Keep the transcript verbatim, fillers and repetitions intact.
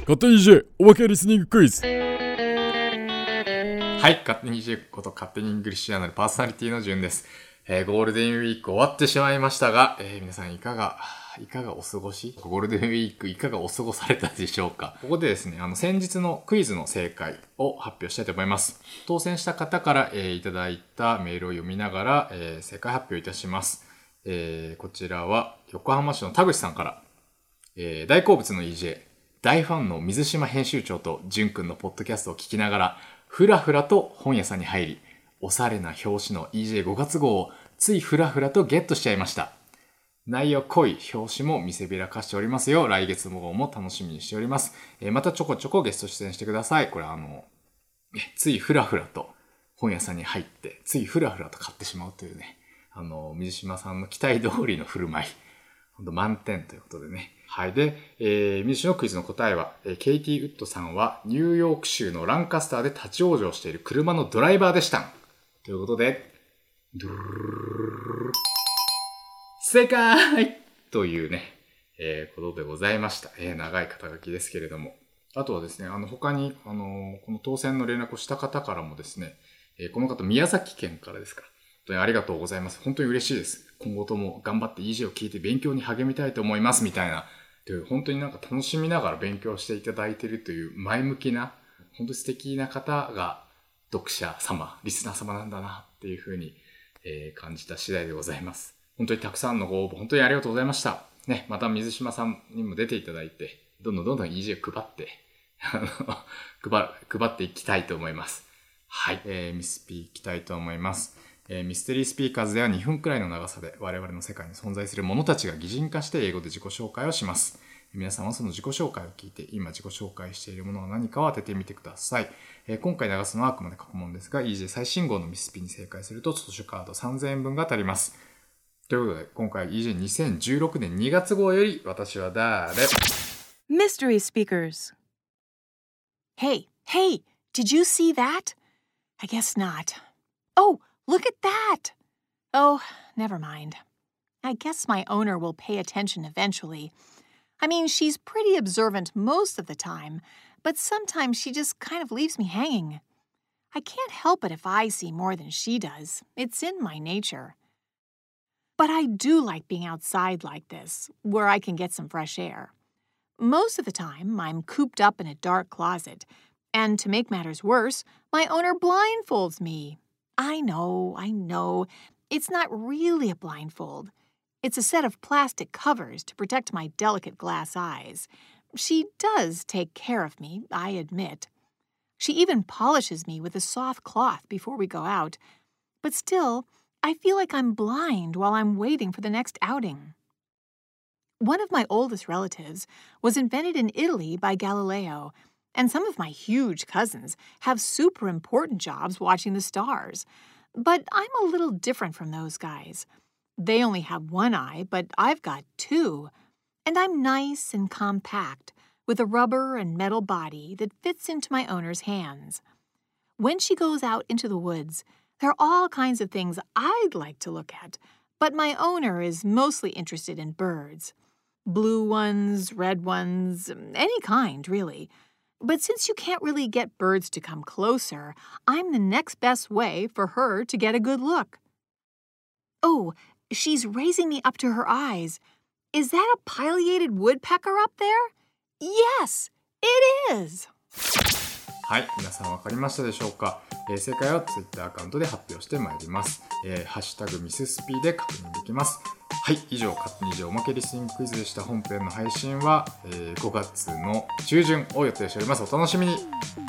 勝手に イージェー おまけリスニングクイズ。 はい、勝手に イージェー こと勝手にイングリッシュジャーナルパーソナリティのじゅんです。えー、ゴールデンウィーク終わってしまいましたが、えー、皆さんいかがいかがお過ごしゴールデンウィークいかがお過ごされたでしょうか。ここでですね、あの先日のクイズの正解を発表したいと思います。当選した方から、えー、いただいたメールを読みながら、えー、正解発表いたします。えー、こちらは横浜市の田口さんから、えー、大好物の イージェー、大ファンの水島編集長とじゅんくんのポッドキャストを聞きながらふらふらと本屋さんに入り、おしゃれな表紙の イージェーご 月号をついふらふらとゲットしちゃいました。内容濃い表紙も見せびらかしておりますよ。来月号も楽しみにしております。えー、またちょこちょこゲスト出演してください。これあのついふらふらと本屋さんに入ってついふらふらと買ってしまうというね、あの水島さんの期待通りの振る舞い、ほんと満点ということでね。はい。で、えー、水島のクイズの答えは、えー、ケイティ・ウッドさんはニューヨーク州のランカスターで立ち往生している車のドライバーでした。ということで、ドゥルルルル正解というね、えー、ことでございました。えー、長い肩書きですけれども。あとはですね、あの、他に、あのー、この当選の連絡をした方からもですね、えー、この方、宮崎県からですから、本当にありがとうございます。本当に嬉しいです。今後とも頑張って イージェー を聞いて勉強に励みたいと思います、みたいな。という本当になんか楽しみながら勉強していただいているという前向きな、本当に素敵な方が読者様、リスナー様なんだなっていうふうに、えー、感じた次第でございます。本当にたくさんのご応募、本当にありがとうございました。ね、また水島さんにも出ていただいて、どんどんどんどん イージェー 配って、あの配、配っていきたいと思います。はい、えー、ミスピーいきたいと思います。えー、ミステリースピーカーズではにふんくらいの長さで我々の世界に存在する者たちが擬人化して英語で自己紹介をします。皆さんはその自己紹介を聞いて今自己紹介しているものは何かを当ててみてください。えー、今回流すのはあくまで過去問ですが イージェー 最新号のミスピに正解すると図書カードさんぜんえんぶんが当たります。ということで今回 イージェーにせんじゅうろくねんにがつ号より私は誰 Mystery Speakers. Hey, hey, did you see that? I guess not. Oh, look at that. Oh, never mind. I guess my owner will pay attention eventually. I mean, she's pretty observant most of the time, but sometimes she just kind of leaves me hanging. I can't help it if I see more than she does. It's in my nature. But I do like being outside like this, where I can get some fresh air. Most of the time, I'm cooped up in a dark closet, and to make matters worse, my owner blindfolds me. I know, I know. It's not really a blindfold. It's a set of plastic covers to protect my delicate glass eyes. She does take care of me, I admit. She even polishes me with a soft cloth before we go out. But still, I feel like I'm blind while I'm waiting for the next outing. One of my oldest relatives was invented in Italy by Galileo, and some of my huge cousins have super important jobs watching the stars. But I'm a little different from those guys. They only have one eye, but I've got two. And I'm nice and compact, with a rubber and metal body that fits into my owner's hands. When she goes out into the woods, there are all kinds of things I'd like to look at, but my owner is mostly interested in birds. Blue ones, red ones, any kind, really. But since you can't really get birds to come closer, I'm the next best way for her to get a good look. Oh, she's raising me up to her eyes. Is that a pileated woodpecker up there? Yes, it is! はい、皆さん分かりましたでしょうか。えー、正解は Twitter アカウントで発表してまいります。えー、ハッシュタグミススピで確認できます。はい、以上、勝手に以上おまけリスニングクイズでした。本編の配信は、えー、ごがつの中旬を予定しております。お楽しみに。